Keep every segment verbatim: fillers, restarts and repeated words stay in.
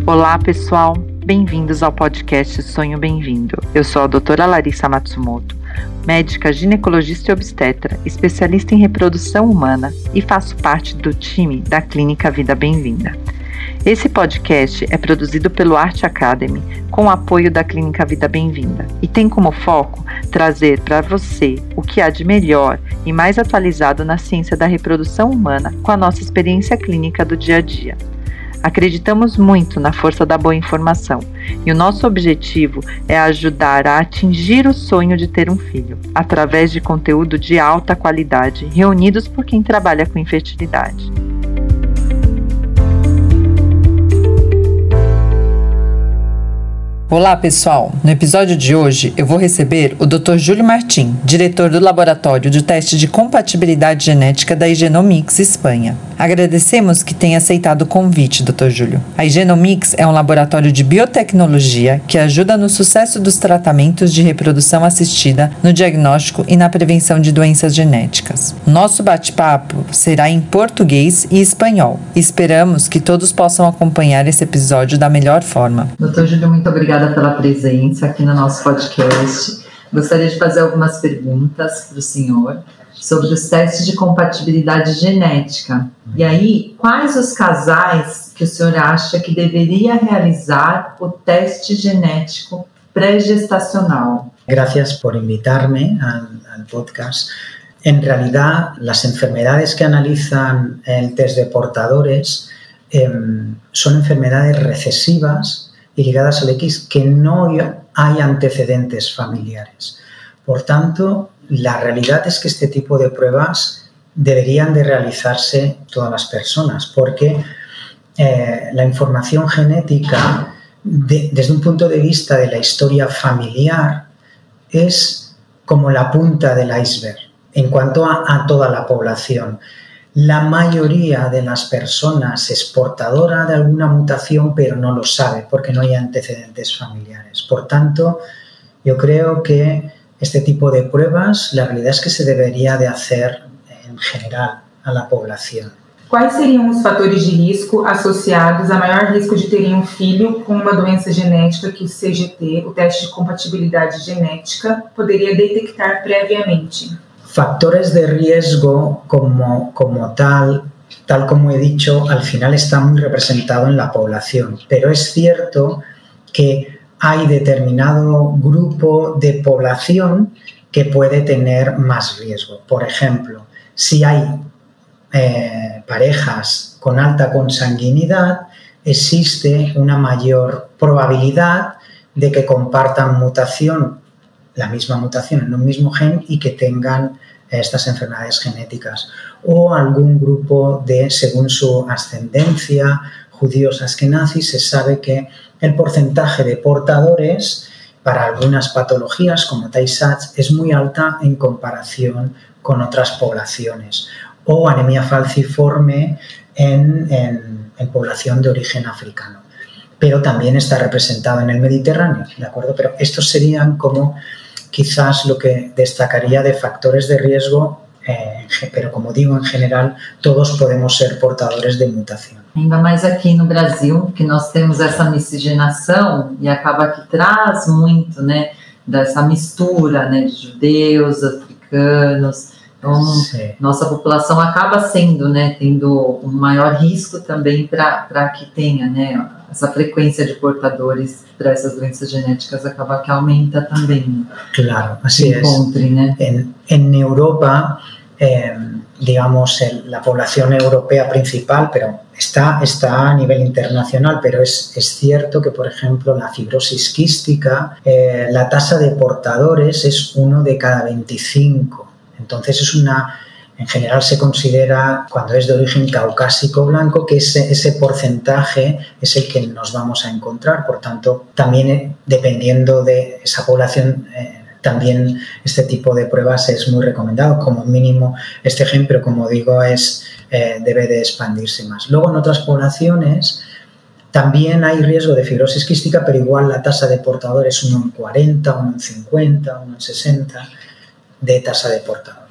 Olá, pessoal! Bem-vindos ao podcast Sonho Bem-vindo. Eu sou a doutora Larissa Matsumoto, médica ginecologista e obstetra, especialista em reprodução humana e faço parte do time da Clínica Vida Bem-vinda. Esse podcast é produzido pelo Arte Academy com o apoio da Clínica Vida Bem-vinda e tem como foco trazer para você o que há de melhor e mais atualizado na ciência da reprodução humana com a nossa experiência clínica do dia a dia. Acreditamos muito na força da boa informação e o nosso objetivo é ajudar a atingir o sonho de ter um filho, através de conteúdo de alta qualidade, reunidos por quem trabalha com infertilidade. Olá, pessoal! No episódio de hoje eu vou receber o doutor Júlio Martim, diretor do Laboratório de Teste de Compatibilidade Genética da Igenomix, Espanha. Agradecemos que tenha aceitado o convite, doutor Júlio. A Igenomix é um laboratório de biotecnologia que ajuda no sucesso dos tratamentos de reprodução assistida, no diagnóstico e na prevenção de doenças genéticas. Nosso bate-papo será em português e espanhol. Esperamos que todos possam acompanhar esse episódio da melhor forma. doutor Júlio, muito obrigada pela presença aqui no nosso podcast. Gostaria de fazer algumas perguntas para o senhor sobre os testes de compatibilidade genética. E aí, quais os casais que o senhor acha que deveria realizar o teste genético pré-gestacional? Gracias por invitarme al, al podcast. En realidad, las enfermedades que analizan el test de portadores eh, son enfermedades recesivas y ligadas al X que no hay antecedentes familiares. Por tanto, la realidad es que este tipo de pruebas deberían de realizarse todas las personas, porque eh, la información genética, de, desde un punto de vista de la historia familiar, es como la punta del iceberg en cuanto a, a toda la población. La mayoría de las personas es portadora de alguna mutación, pero no lo sabe porque no hay antecedentes familiares. Por tanto, yo creo que este tipo de pruebas, la realidad es que se debería de hacer en general a la población. Quais seriam os fatores de risco associados a maior risco de terem um filho com uma doença genética que o C G T, o teste de compatibilidade genética, poderia detectar previamente? Factores de riesgo como, como tal, tal como he dicho, al final está muy representado en la población, pero es cierto que hay determinado grupo de población que puede tener más riesgo. Por ejemplo, si hay eh, parejas con alta consanguinidad, existe una mayor probabilidad de que compartan mutación, la misma mutación en un mismo gen y que tengan estas enfermedades genéticas. O algún grupo de, según su ascendencia, judíos askenazis, se sabe que el porcentaje de portadores para algunas patologías como Tay Sachs es muy alta en comparación con otras poblaciones. O anemia falciforme en, en, en población de origen africano. Pero también está representado en el Mediterráneo, ¿de acuerdo? Pero estos serían como quizás lo que destacaría de factores de riesgo, eh, pero como digo, en general, todos podemos ser portadores de mutação. Ainda mais aqui no Brasil, que nós temos essa miscigenação e acaba que traz muito, né, dessa mistura, né, de judeus, africanos. Então, sim, nossa população acaba sendo, né, tendo um maior risco também para que tenha, né, essa frequência de portadores para essas doenças genéticas acaba que aumenta também. Claro, así es. Encontre, né? En, en Europa, eh, digamos, el, la población europea principal, pero está, está a nivel internacional, pero es, es cierto que, por ejemplo, la fibrosis quística, eh, la tasa de portadores es uno de cada veinticinco. Entonces es una, en general se considera, cuando es de origen caucásico blanco, que ese, ese porcentaje es el que nos vamos a encontrar. Por tanto, también eh, dependiendo de esa población, eh, también este tipo de pruebas es muy recomendado. Como mínimo este gen, pero como digo, es, eh, debe de expandirse más. Luego en otras poblaciones también hay riesgo de fibrosis quística, pero igual la tasa de portador es uno en cuarenta, uno en cincuenta, uno en sesenta de tasa de portador.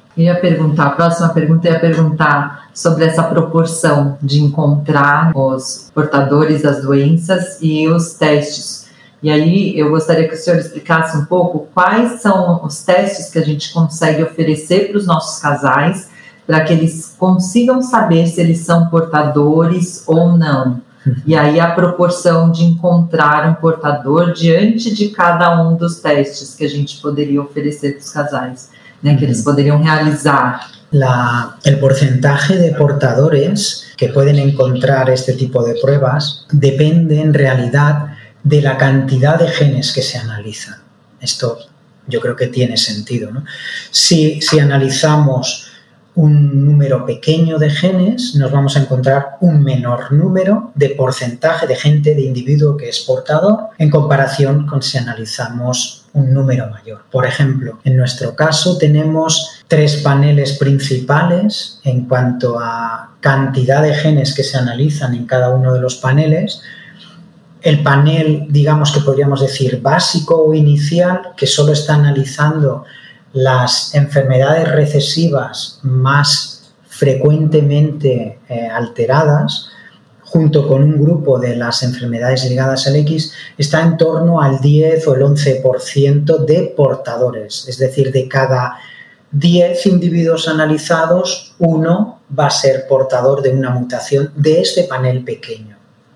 Eu ia perguntar, a próxima pergunta eu ia perguntar sobre essa proporção de encontrar os portadores das doenças e os testes. E aí eu gostaria que o senhor explicasse um pouco quais são os testes que a gente consegue oferecer para os nossos casais para que eles consigam saber se eles são portadores ou não. E aí a proporção de encontrar um portador diante de cada um dos testes que a gente poderia oferecer para os casais, né, que eles poderiam realizar. La, el porcentaje de portadores que pueden encontrar este tipo de pruebas depende en realidad de la cantidad de genes que se analizan. Esto yo creo que tiene sentido, ¿no? Si, si analizamos un número pequeño de genes, nos vamos a encontrar un menor número de porcentaje de gente, de individuo que es portador, en comparación con si analizamos un número mayor. Por ejemplo, en nuestro caso tenemos tres paneles principales en cuanto a cantidad de genes que se analizan en cada uno de los paneles. El panel, digamos que podríamos decir básico o inicial, que solo está analizando las enfermedades recesivas más frecuentemente eh, alteradas, junto con un grupo de las enfermedades ligadas al X, está en torno al diez o el once por ciento de portadores. Es decir, de cada diez individuos analizados, uno va a ser portador de una mutación de este panel pequeño.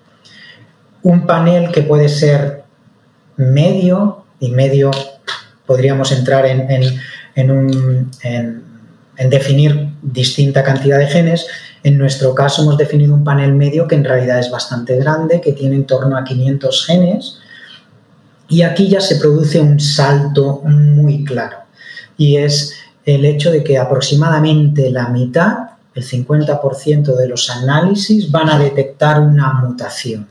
Un panel que puede ser medio, y medio podríamos entrar en, en, en, un, en, en definir distinta cantidad de genes. En nuestro caso hemos definido un panel medio que en realidad es bastante grande, que tiene en torno a quinientos genes, y aquí ya se produce un salto muy claro, y es el hecho de que aproximadamente la mitad, el cincuenta por ciento de los análisis van a detectar una mutación.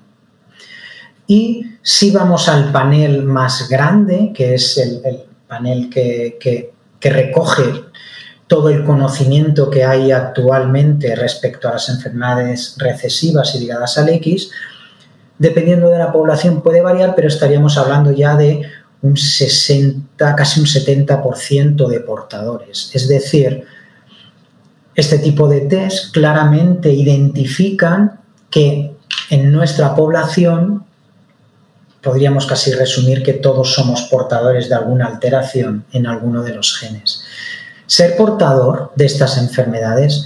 Y si vamos al panel más grande, que es el, el panel que, que, que recoge todo el conocimiento que hay actualmente respecto a las enfermedades recesivas y ligadas al X, dependiendo de la población puede variar, pero estaríamos hablando ya de un sesenta, casi un setenta por ciento de portadores. Es decir, este tipo de test claramente identifican que en nuestra población podríamos casi resumir que todos somos portadores de alguna alteración en alguno de los genes. Ser portador de estas enfermedades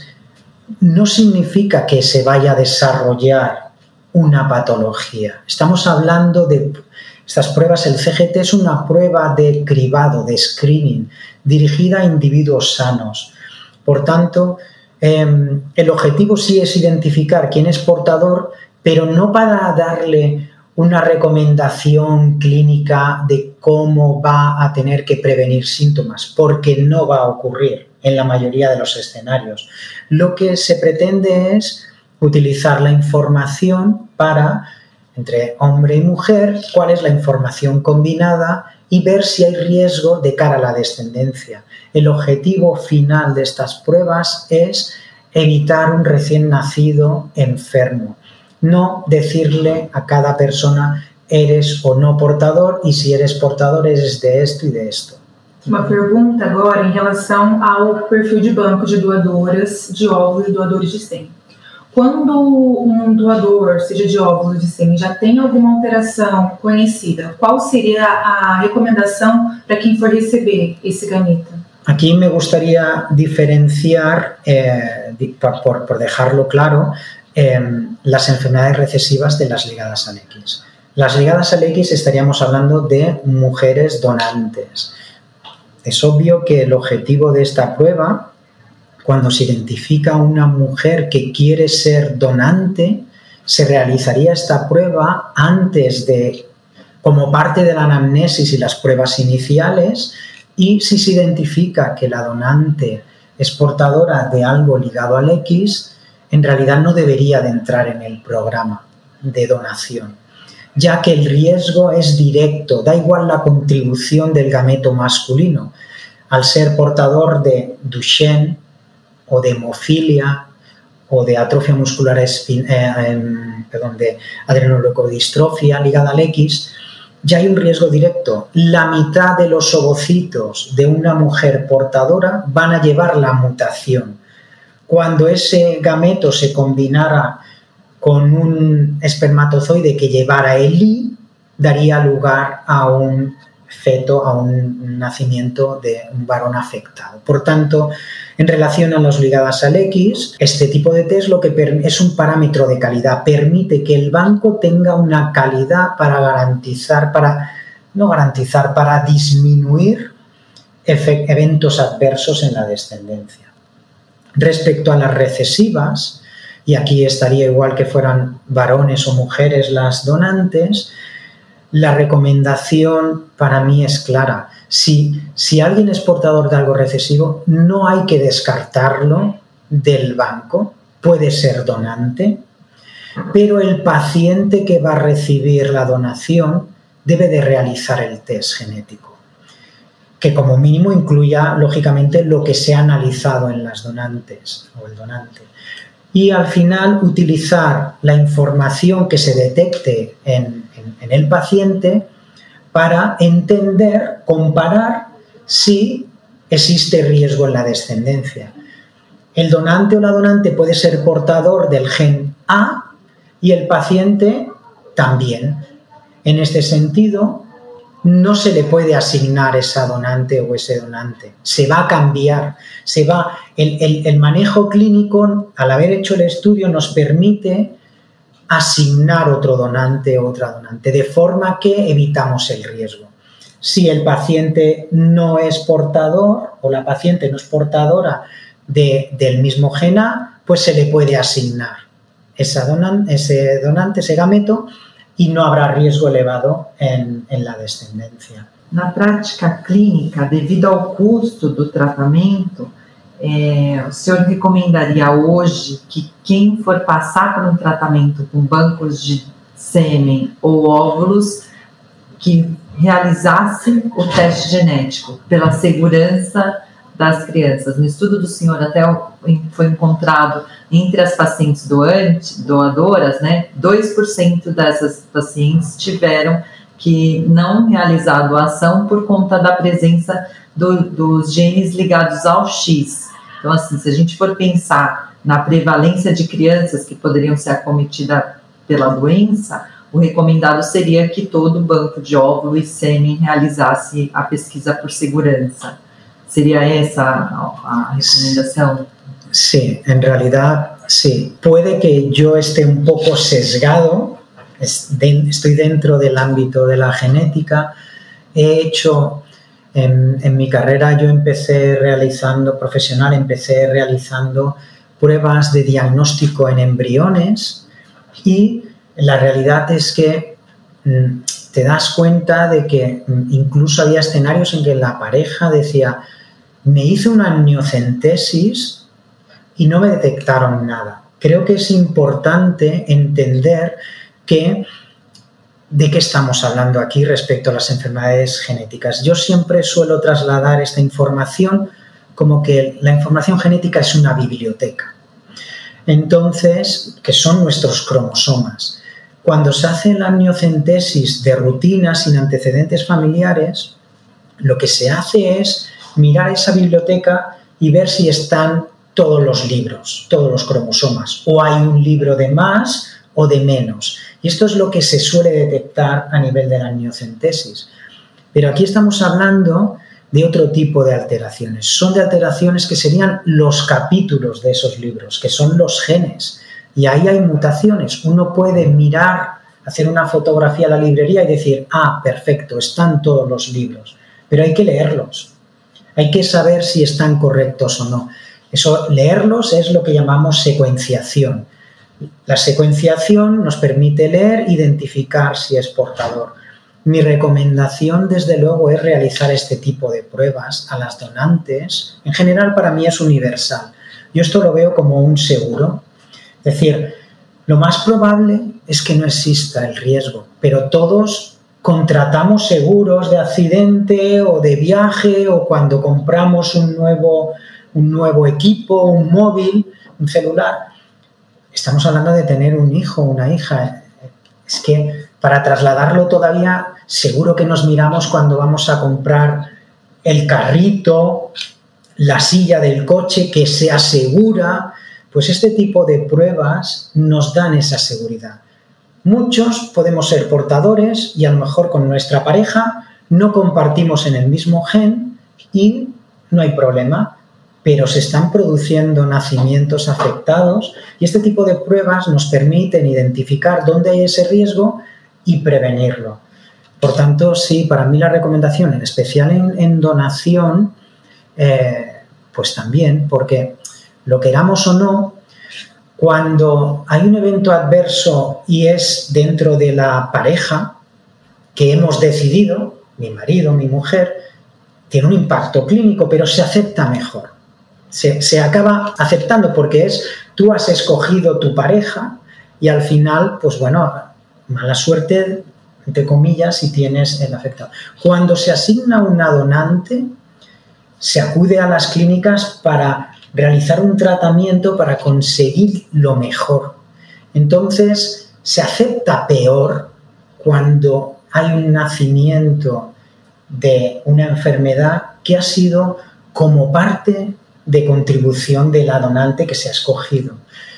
no significa que se vaya a desarrollar una patología. Estamos hablando de estas pruebas, el C G T es una prueba de cribado, de screening, dirigida a individuos sanos. Por tanto, eh, el objetivo sí es identificar quién es portador, pero no para darle una recomendación clínica de cómo va a tener que prevenir síntomas, porque no va a ocurrir en la mayoría de los escenarios. Lo que se pretende es utilizar la información para, entre hombre y mujer, cuál es la información combinada y ver si hay riesgo de cara a la descendencia. El objetivo final de estas pruebas es evitar un recién nacido enfermo. No decirle a cada persona eres o no portador e se eres portador eres de esto e de esto. Uma pergunta agora em relação ao perfil de banco de doadoras de óvulos e doadores de sêmen. Quando um doador, seja de óvulos de sêmen, já tem alguma alteração conhecida, qual seria a recomendação para quem for receber esse gameta? Aquí me gustaría diferenciar, eh, por, por dejarlo claro, Eh, las enfermedades recesivas de las ligadas al X. Las ligadas al X estaríamos hablando de mujeres donantes. Es obvio que el objetivo de esta prueba, cuando se identifica una mujer que quiere ser donante, se realizaría esta prueba antes de, como parte de la anamnesis y las pruebas iniciales, y si se identifica que la donante es portadora de algo ligado al X, en realidad no debería de entrar en el programa de donación, ya que el riesgo es directo, da igual la contribución del gameto masculino. Al ser portador de Duchenne o de hemofilia o de atrofia muscular espin- eh, eh, perdón, de adrenoleucodistrofia ligada al X, ya hay un riesgo directo. La mitad de los ovocitos de una mujer portadora van a llevar la mutación. Cuando ese gameto se combinara con un espermatozoide que llevara el I, daría lugar a un feto, a un nacimiento de un varón afectado. Por tanto, en relación a las ligadas al X, este tipo de test lo que es un parámetro de calidad, permite que el banco tenga una calidad para garantizar, para no garantizar, para disminuir eventos adversos en la descendencia. Respecto a las recesivas, y aquí estaría igual que fueran varones o mujeres las donantes, la recomendación para mí es clara. Si, si alguien es portador de algo recesivo, no hay que descartarlo del banco, puede ser donante, pero el paciente que va a recibir la donación debe de realizar el test genético, que como mínimo incluya, lógicamente, lo que se ha analizado en las donantes o el donante. Y al final utilizar la información que se detecte en, en, en el paciente para entender, comparar si existe riesgo en la descendencia. El donante o la donante puede ser portador del gen A y el paciente también. En este sentido, no se le puede asignar esa donante o ese donante. Se va a cambiar. Se va, el, el, el manejo clínico, al haber hecho el estudio, nos permite asignar otro donante o otra donante, de forma que evitamos el riesgo. Si el paciente no es portador o la paciente no es portadora de, del mismo gen A, pues se le puede asignar esa donan, ese donante, ese gameto, e não haverá risco elevado em, em la descendência. Na prática clínica, devido ao custo do tratamento, é, o senhor recomendaria hoje que quem for passar por um tratamento com bancos de sêmen ou óvulos que realizasse o teste genético pela segurança das crianças? No estudo do senhor até foi encontrado entre as pacientes doantes, doadoras, né, dois por cento dessas pacientes tiveram que não realizado a ação por conta da presença do, dos genes ligados ao X. Então, assim, se a gente for pensar na prevalência de crianças que poderiam ser acometidas pela doença, o recomendado seria que todo banco de óvulo e sêmen realizasse a pesquisa por segurança. ¿Sería esa la recomendación? Sí, en realidad sí. Puede que yo esté un poco sesgado, estoy dentro del ámbito de la genética. He hecho, en, en mi carrera yo empecé realizando, profesional, empecé realizando pruebas de diagnóstico en embriones y la realidad es que te das cuenta de que incluso había escenarios en que la pareja decía: me hice una amniocentesis y no me detectaron nada. Creo que es importante entender que, de qué estamos hablando aquí respecto a las enfermedades genéticas. Yo siempre suelo trasladar esta información como que la información genética es una biblioteca. Entonces, que son nuestros cromosomas. Cuando se hace la amniocentesis de rutina sin antecedentes familiares, lo que se hace es mirar esa biblioteca y ver si están todos los libros, todos los cromosomas, o hay un libro de más o de menos. Y esto es lo que se suele detectar a nivel de la amniocentesis. Pero aquí estamos hablando de otro tipo de alteraciones. Son de alteraciones que serían los capítulos de esos libros, que son los genes. Y ahí hay mutaciones. Uno puede mirar, hacer una fotografía a la librería y decir: ah, perfecto, están todos los libros. Pero hay que leerlos. Hay que saber si están correctos o no. Eso, leerlos es lo que llamamos secuenciación. La secuenciación nos permite leer, identificar si es portador. Mi recomendación, desde luego, es realizar este tipo de pruebas a las donantes. En general, para mí es universal. Yo esto lo veo como un seguro. Es decir, lo más probable es que no exista el riesgo, pero todos contratamos seguros de accidente o de viaje, o cuando compramos un nuevo, un nuevo equipo, un móvil, un celular. Estamos hablando de tener un hijo o una hija. Es que para trasladarlo todavía seguro que nos miramos cuando vamos a comprar el carrito, la silla del coche, que sea segura. Pues este tipo de pruebas nos dan esa seguridad. Muchos podemos ser portadores y a lo mejor con nuestra pareja no compartimos en el mismo gen y no hay problema, pero se están produciendo nacimientos afectados y este tipo de pruebas nos permiten identificar dónde hay ese riesgo y prevenirlo. Por tanto, sí, para mí la recomendación, en especial en, en donación, eh, pues también, porque lo queramos o no, cuando hay un evento adverso y es dentro de la pareja que hemos decidido, mi marido, mi mujer, tiene un impacto clínico, pero se acepta mejor. Se, se acaba aceptando porque es, tú has escogido tu pareja y al final, pues bueno, mala suerte, entre comillas, si tienes el afectado. Cuando se asigna una donante, se acude a las clínicas para realizar un tratamiento para conseguir lo mejor. Entonces, se acepta peor cuando hay un nacimiento de una enfermedad que ha sido como parte de contribución de la donante que se ha escogido.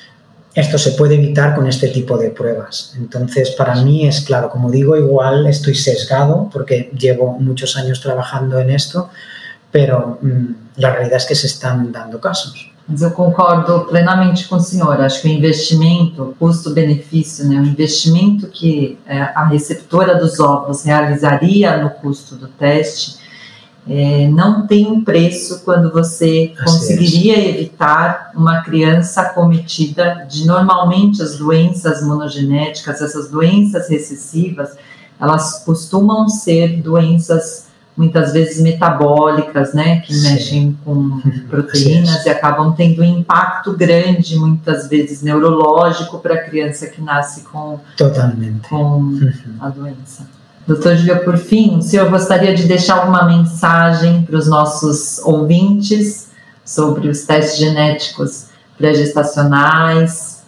Esto se puede evitar con este tipo de pruebas. Entonces, para mí es claro, como digo, igual estoy sesgado porque llevo muchos años trabajando en esto, pero hum, la realidad es que se están dando casos. Mas eu concordo plenamente com o senhor. Acho que o investimento, custo-benefício, né, o investimento que é, a receptora dos óvulos realizaria no custo do teste, é, não tem um preço quando você Assim conseguiria é. evitar uma criança acometida de, normalmente, as doenças monogenéticas, essas doenças recessivas, elas costumam ser doenças muitas vezes metabólicas, né, que Sim. mexem com proteínas e acabam tendo um impacto grande, muitas vezes neurológico, para a criança que nasce com, Totalmente. com a doença. doutor Júlio, por fim, o senhor gostaria de deixar alguma mensagem para os nossos ouvintes sobre os testes genéticos pré-gestacionais?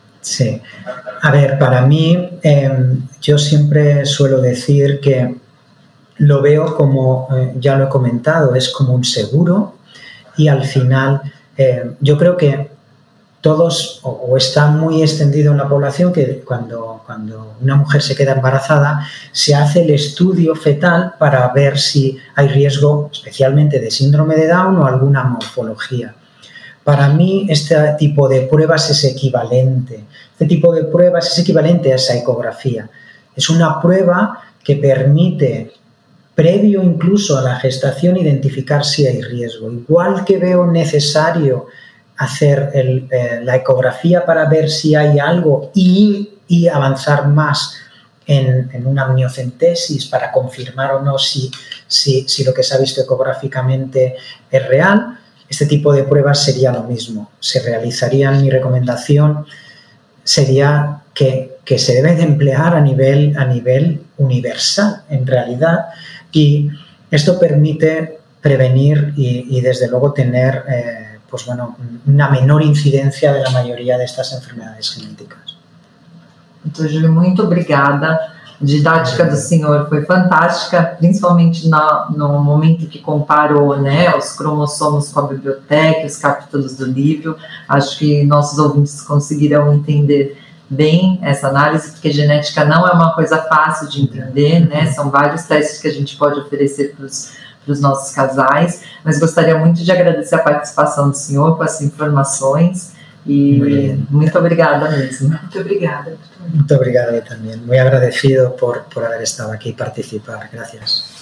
Sí. A ver, para mí, eh, yo siempre suelo decir que lo veo como, eh, ya lo he comentado, es como un seguro y al final eh, yo creo que todos, o, o está muy extendido en la población que cuando, cuando una mujer se queda embarazada se hace el estudio fetal para ver si hay riesgo especialmente de síndrome de Down o alguna morfología. Para mí este tipo de pruebas es equivalente, este tipo de pruebas es equivalente a esa ecografía. Es una prueba que permite, previo incluso a la gestación, identificar si hay riesgo. Igual que veo necesario hacer el, eh, la ecografía para ver si hay algo y, y avanzar más en, en una amniocentesis para confirmar o no si, si, si lo que se ha visto ecográficamente es real, este tipo de pruebas sería lo mismo. Se realizarían, mi recomendación sería que, que se debe de emplear a nivel, a nivel universal, en realidad, y esto permite prevenir y, y desde luego tener eh, pues bueno, una menor incidencia de la mayoría de estas enfermedades genéticas. doutor Júlio, muito obrigada. A didática do senhor foi fantástica, principalmente na, no momento que comparou, né, os cromossomos com a biblioteca, os capítulos do livro. Acho que nossos ouvintes conseguirão entender bem essa análise, porque genética não é uma coisa fácil de entender, né? São vários testes que a gente pode oferecer para os nossos casais, mas gostaria muito de agradecer a participação do senhor com essas informações e muito obrigada mesmo. Muito obrigada. Muito obrigado eu também. Muito agradecido por, por haber estado aqui e participar. Gracias.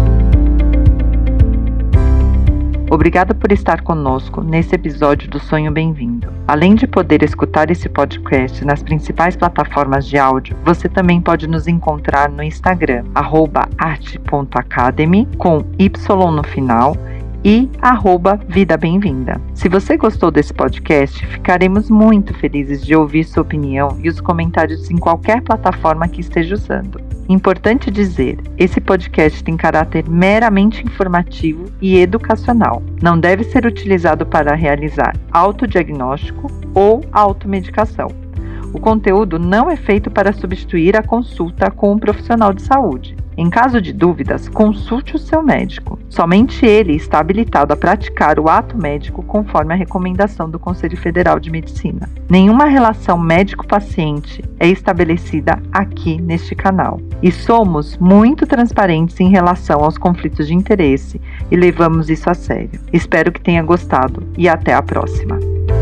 Obrigado por estar conosco nesse episódio do Sonho Bem-vindo. Além de poder escutar esse podcast nas principais plataformas de áudio, você também pode nos encontrar no Instagram, arroba arte ponto academy, com Y no final, e arroba Vida Bem-vinda. Se você gostou desse podcast, ficaremos muito felizes de ouvir sua opinião e os comentários em qualquer plataforma que esteja usando. Importante dizer, esse podcast tem caráter meramente informativo e educacional. Não deve ser utilizado para realizar autodiagnóstico ou automedicação. O conteúdo não é feito para substituir a consulta com um profissional de saúde. Em caso de dúvidas, consulte o seu médico. Somente ele está habilitado a praticar o ato médico conforme a recomendação do Conselho Federal de Medicina. Nenhuma relação médico-paciente é estabelecida aqui neste canal. E somos muito transparentes em relação aos conflitos de interesse e levamos isso a sério. Espero que tenha gostado e até a próxima.